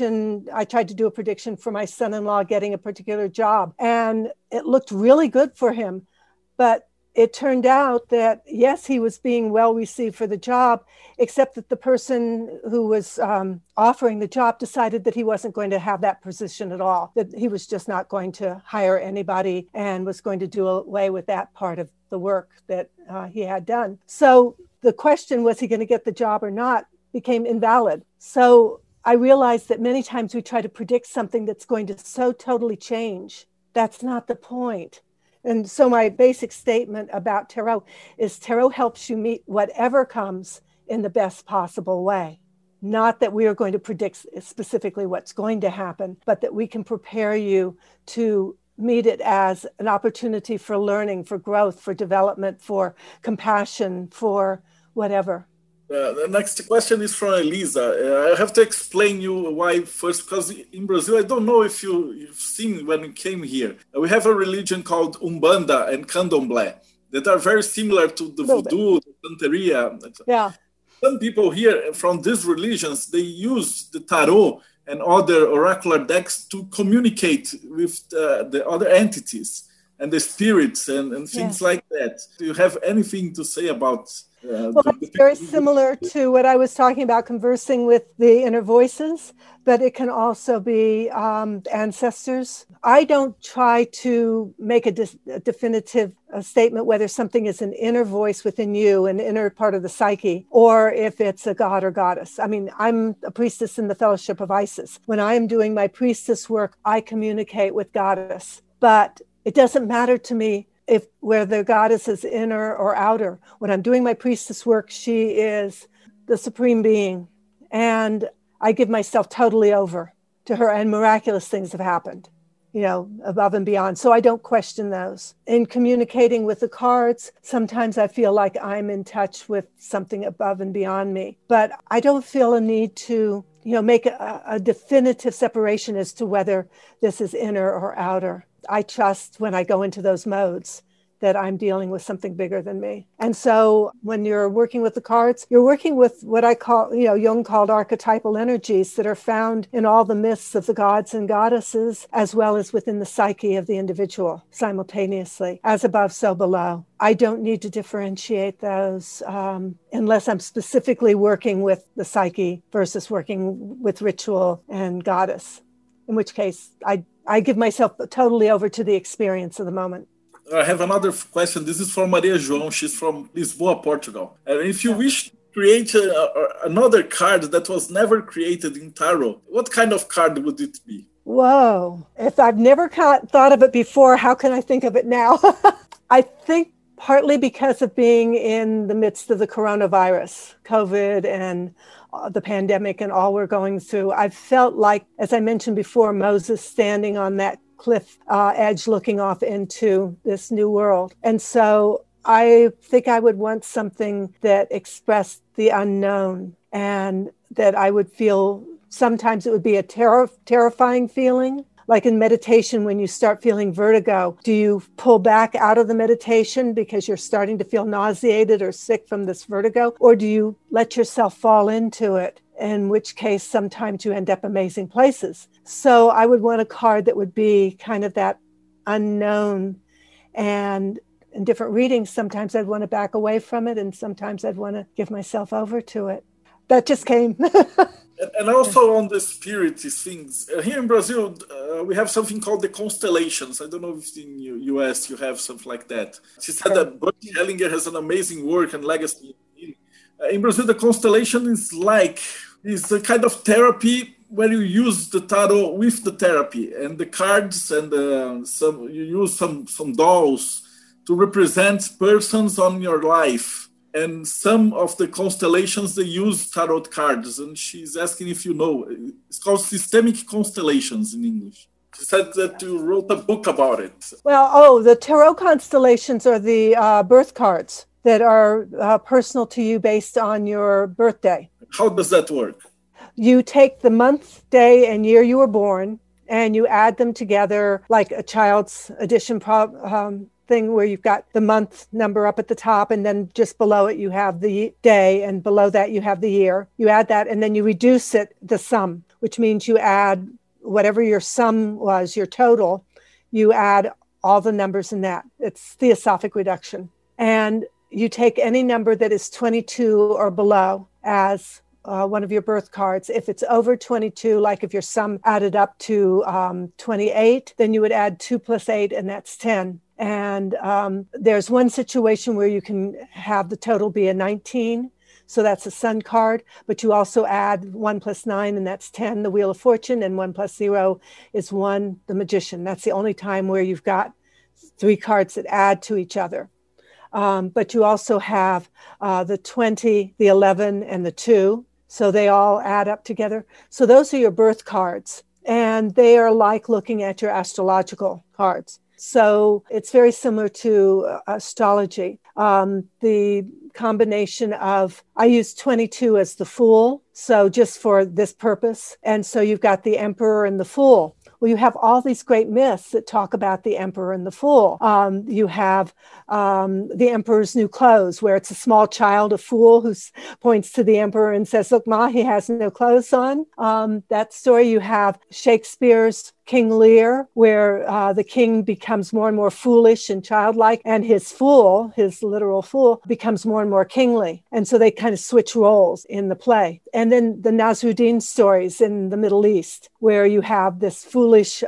I tried to do a prediction for my son-in-law getting a particular job, and it looked really good for him. But it turned out that, yes, he was being well received for the job, except that the person who was offering the job decided that he wasn't going to have that position at all, that he was just not going to hire anybody and was going to do away with that part of the work that he had done. So the question, was he going to get the job or not, became invalid. So I realized that many times we try to predict something that's going to so totally change. That's not the point. And so my basic statement about tarot is tarot helps you meet whatever comes in the best possible way. Not that we are going to predict specifically what's going to happen, but that we can prepare you to meet it as an opportunity for learning, for growth, for development, for compassion, for whatever. The next question is from Elisa. I have to explain you why first, because in Brazil, I don't know if you've seen when you came here, we have a religion called Umbanda and Candomblé that are very similar to the Voodoo, the Santeria. Yeah. Some people here from these religions, they use the tarot and other oracular decks to communicate with the other entities and the spirits and things like that. Do you have anything to say about well, it's very similar to what I was talking about, conversing with the inner voices, but it can also be ancestors. I don't try to make a definitive statement whether something is an inner voice within you, an inner part of the psyche, or if it's a god or goddess. I mean, I'm a priestess in the Fellowship of Isis. When I am doing my priestess work, I communicate with goddess, but it doesn't matter to me whether the goddess is inner or outer. When I'm doing my priestess work, she is the supreme being. And I give myself totally over to her, and miraculous things have happened, above and beyond. So I don't question those. In communicating with the cards, sometimes I feel like I'm in touch with something above and beyond me. But I don't feel a need to, make a definitive separation as to whether this is inner or outer. I trust when I go into those modes that I'm dealing with something bigger than me. And so when you're working with the cards, you're working with what I call, Jung called archetypal energies that are found in all the myths of the gods and goddesses, as well as within the psyche of the individual simultaneously, as above, so below. I don't need to differentiate those unless I'm specifically working with the psyche versus working with ritual and goddess, in which case I give myself totally over to the experience of the moment. I have another question. This is from Maria João. She's from Lisboa, Portugal. And if you wish to create another card that was never created in tarot, what kind of card would it be? Whoa. If I've never thought of it before, how can I think of it now? I think partly because of being in the midst of the coronavirus, COVID, and the pandemic and all we're going through, I felt like, as I mentioned before, Moses standing on that cliff edge looking off into this new world. And so I think I would want something that expressed the unknown, and that I would feel, sometimes it would be a terrifying feeling. Like in meditation, when you start feeling vertigo, do you pull back out of the meditation because you're starting to feel nauseated or sick from this vertigo? Or do you let yourself fall into it? In which case, sometimes you end up amazing places. So I would want a card that would be kind of that unknown. And in different readings, sometimes I'd want to back away from it, and sometimes I'd want to give myself over to it. That just came. And also on the spirit things, here in Brazil, we have something called the constellations. I don't know if in the US you have something like that. She said that Bert Hellinger has an amazing work and legacy. In Brazil, the constellation is a kind of therapy where you use the tarot with the therapy, and the cards, and you use some dolls to represent persons on your life. And some of the constellations, they use tarot cards. And she's asking if you know. It's called Systemic Constellations in English. She said that you wrote a book about it. Well, the tarot constellations are the birth cards that are personal to you based on your birthday. How does that work? You take the month, day, and year you were born, and you add them together like a child's addition thing, where you've got the month number up at the top, and then just below it you have the day, and below that you have the year. You add that, and then you reduce it, the sum, which means you add whatever your sum was, your total, you add all the numbers in that. It's theosophic reduction. And you take any number that is 22 or below as one of your birth cards. If it's over 22, like if your sum added up to 28, then you would add 2 plus 8, and that's 10. And there's one situation where you can have the total be a 19. So that's a sun card, but you also add 1 plus 9, and that's 10, the Wheel of Fortune, and 1 plus 0 is 1, the Magician. That's the only time where you've got 3 cards that add to each other. But you also have the 20, the 11, and the 2. So they all add up together. So those are your birth cards, and they are like looking at your astrological cards. So it's very similar to astrology. The combination of, I use 22 as the Fool, so just for this purpose. And so you've got the Emperor and the Fool. Well, you have all these great myths that talk about the Emperor and the Fool. You have the Emperor's New Clothes, where it's a small child, a fool, who points to the Emperor and says, "Look, Ma, he has no clothes on." That story. You have Shakespeare's King Lear, where the king becomes more and more foolish and childlike, and his fool, his literal fool, becomes more and more kingly. And so they kind of switch roles in the play. And then the Nasruddin stories in the Middle East, where you have this foolish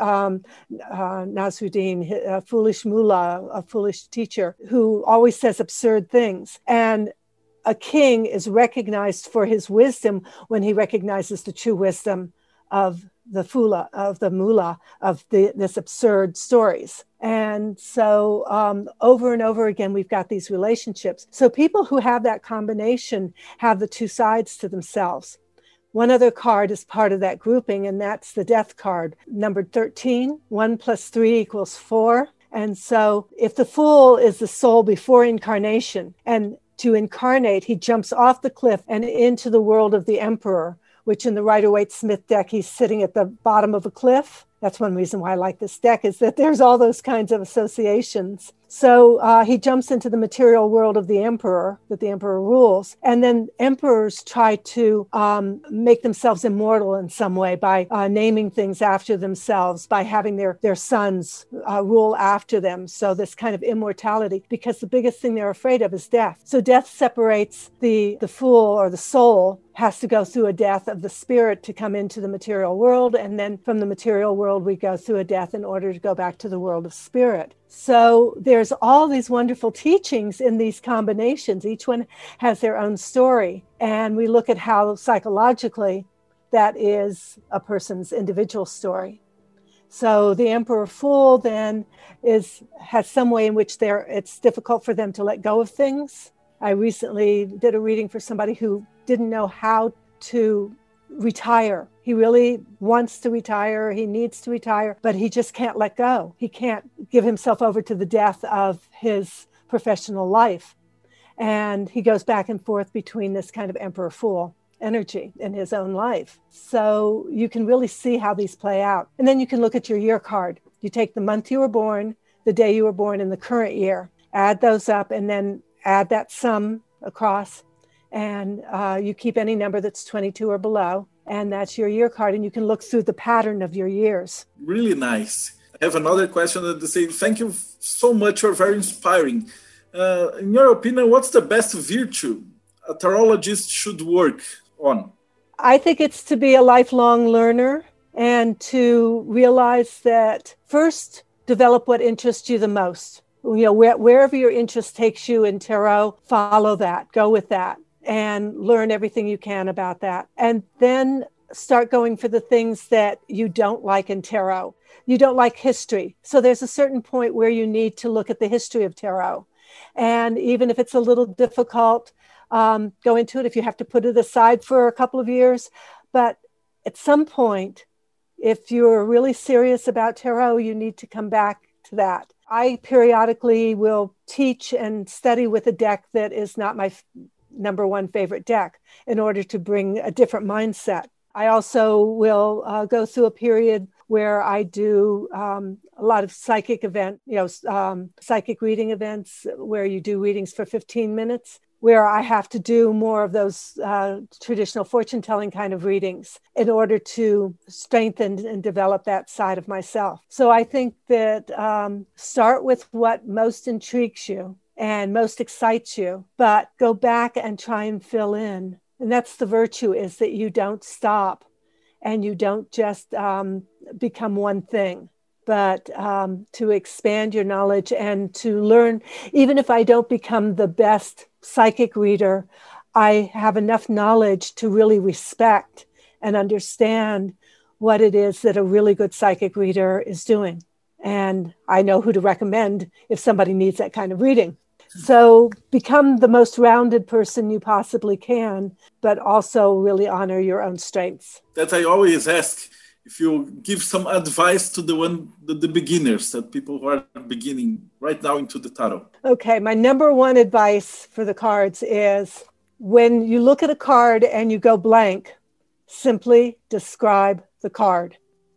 Nasruddin, a foolish mullah, a foolish teacher, who always says absurd things. And a king is recognized for his wisdom when he recognizes the true wisdom of the fula, of the mullah, of this absurd stories. And so over and over again, we've got these relationships. So people who have that combination have the two sides to themselves. One other card is part of that grouping, and that's the death card, numbered 13. 1 plus 3 equals 4. And so if the fool is the soul before incarnation, and to incarnate, he jumps off the cliff and into the world of the emperor, which in the Rider-Waite-Smith deck, he's sitting at the bottom of a cliff. That's one reason why I like this deck, is that there's all those kinds of associations. So he jumps into the material world of the emperor, that the emperor rules. And then emperors try to make themselves immortal in some way by naming things after themselves, by having their sons rule after them. So this kind of immortality, because the biggest thing they're afraid of is death. So death separates the fool, or the soul has to go through a death of the spirit to come into the material world. And then from the material world, we go through a death in order to go back to the world of spirit. So there's all these wonderful teachings in these combinations. Each one has their own story. And we look at how psychologically that is a person's individual story. So the Emperor Fool then has some way in which it's difficult for them to let go of things. I recently did a reading for somebody who didn't know how to retire. He really wants to retire. He needs to retire, but he just can't let go. He can't give himself over to the death of his professional life. And he goes back and forth between this kind of Emperor Fool energy in his own life. So you can really see how these play out. And then you can look at your year card. You take the month you were born, the day you were born, and the current year, add those up, and then add that sum across, and you keep any number that's 22 or below, and that's your year card, and you can look through the pattern of your years. Really nice. I have another question that they say, thank you so much, you're very inspiring. In your opinion, what's the best virtue a tarologist should work on? I think it's to be a lifelong learner and to realize that first, develop what interests you the most. You know, wherever your interest takes you in tarot, follow that, go with that, and learn everything you can about that. And then start going for the things that you don't like in tarot. You don't like history. So there's a certain point where you need to look at the history of tarot. And even if it's a little difficult, go into it if you have to put it aside for a couple of years. But at some point, if you're really serious about tarot, you need to come back to that. I periodically will teach and study with a deck that is not my number one favorite deck in order to bring a different mindset. I also will go through a period where I do a lot of psychic psychic reading events where you do readings for 15 minutes, where I have to do more of those traditional fortune-telling kind of readings in order to strengthen and develop that side of myself. So I think that start with what most intrigues you and most excites you, but go back and try and fill in. And that's the virtue, is that you don't stop and you don't just become one thing, but to expand your knowledge and to learn. Even if I don't become the best psychic reader, I have enough knowledge to really respect and understand what it is that a really good psychic reader is doing. And I know who to recommend if somebody needs that kind of reading. So become the most rounded person you possibly can, but also really honor your own strengths. That I always ask, if you give some advice to the beginners, that people who are beginning right now into the tarot. Okay, my number one advice for the cards is when you look at a card and you go blank, simply describe the card.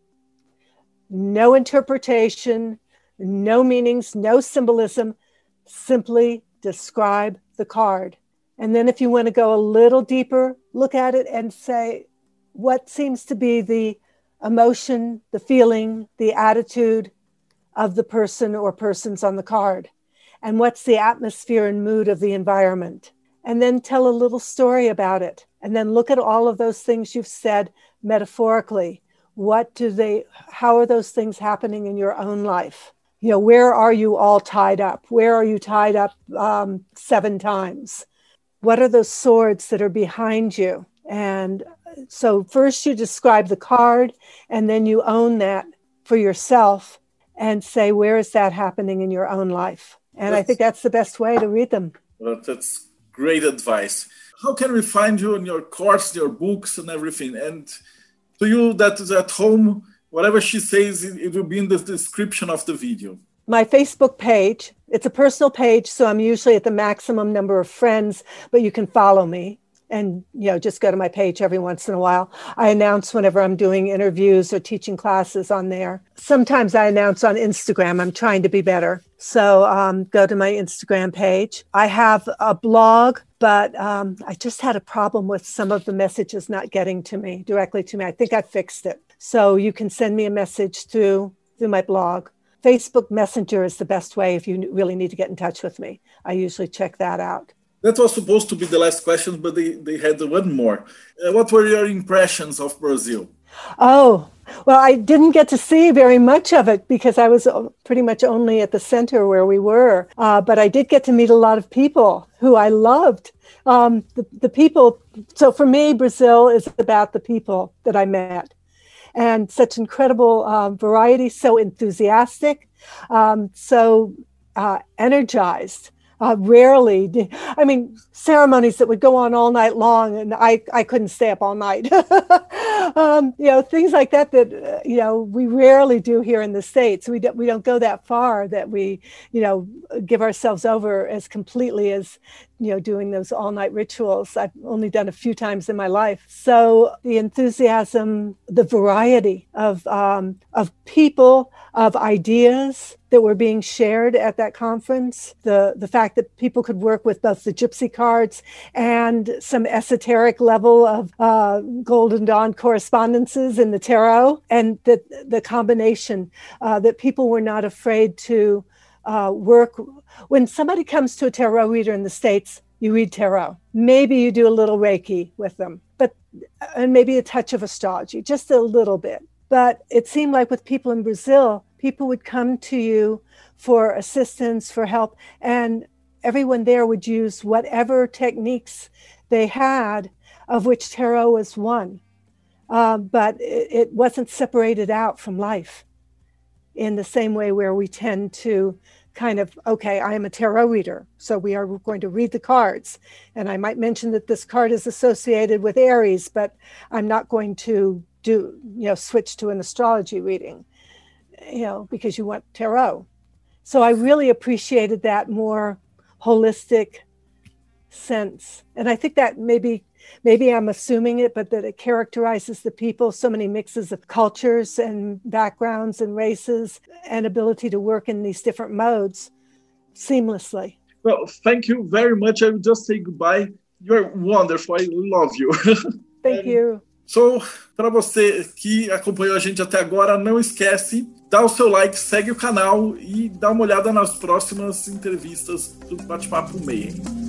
No interpretation, no meanings, no symbolism. Simply describe the card. And then if you want to go a little deeper, look at it and say, what seems to be the emotion, the feeling, the attitude of the person or persons on the card? And what's the atmosphere and mood of the environment? And then tell a little story about it. And then look at all of those things you've said metaphorically. How are those things happening in your own life? You know, where are you all tied up? Where are you tied up 7 times? What are those swords that are behind you? And so first you describe the card, and then you own that for yourself and say, where is that happening in your own life? And I think that's the best way to read them. Well, that's great advice. How can we find you in your course, your books and everything? And to you that is at home, whatever she says, it will be in the description of the video. My Facebook page, it's a personal page, so I'm usually at the maximum number of friends, but you can follow me. and just go to my page every once in a while. I announce whenever I'm doing interviews or teaching classes on there. Sometimes I announce on Instagram. I'm trying to be better. So go to my Instagram page. I have a blog, but I just had a problem with some of the messages not getting to me, directly to me. I think I fixed it. So you can send me a message through my blog. Facebook Messenger is the best way if you really need to get in touch with me. I usually check that out. That was supposed to be the last question, but they had one more. What were your impressions of Brazil? Oh, well, I didn't get to see very much of it because I was pretty much only at the center where we were. But I did get to meet a lot of people who I loved. The people. So for me, Brazil is about the people that I met. And such incredible variety, so enthusiastic, so energized. Rarely, ceremonies that would go on all night long, and I couldn't stay up all night. Things like that we rarely do here in the States. We don't go that far that we, give ourselves over as completely as, doing those all night rituals. I've only done a few times in my life. So the enthusiasm, the variety of people, of ideas that were being shared at that conference, the fact that people could work with both the gypsy cards and some esoteric level of Golden Dawn correspondences in the tarot, and that the combination that people were not afraid to work. When somebody comes to a tarot reader in the States, you read tarot. Maybe you do a little Reiki with them, and maybe a touch of astrology, just a little bit. But it seemed like with people in Brazil, people would come to you for assistance, for help, and everyone there would use whatever techniques they had, of which tarot was one. But it wasn't separated out from life in the same way where we tend to kind of, okay, I am a tarot reader, so we are going to read the cards. And I might mention that this card is associated with Aries, but I'm not going to switch to an astrology reading, because you want tarot. So I really appreciated that more holistic sense. And I think that maybe I'm assuming it, but that it characterizes the people, so many mixes of cultures and backgrounds and races, and ability to work in these different modes seamlessly. Well, thank you very much. I will just say goodbye. You're wonderful. I love you. Thank you. So, para você que acompanhou a gente até agora, não esquece, dá o seu like, segue o canal e dá uma olhada nas próximas entrevistas do Bate-Papo Mayhem.